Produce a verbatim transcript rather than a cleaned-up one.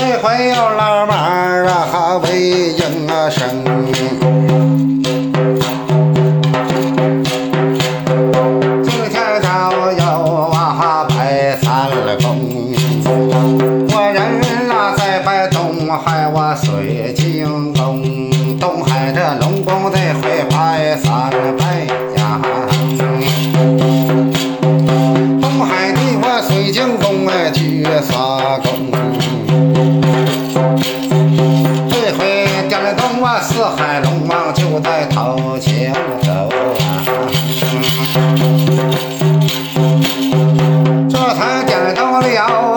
这回有老马儿啊为应啊声，今天早有啊拜三公，我人啊在拜东海我水晶宫，东海的龙宫这回拜三拜呀，东海的我水晶宫哎去仨宫，这回点了灯啊四海龙王就在头前走啊，这才点灯了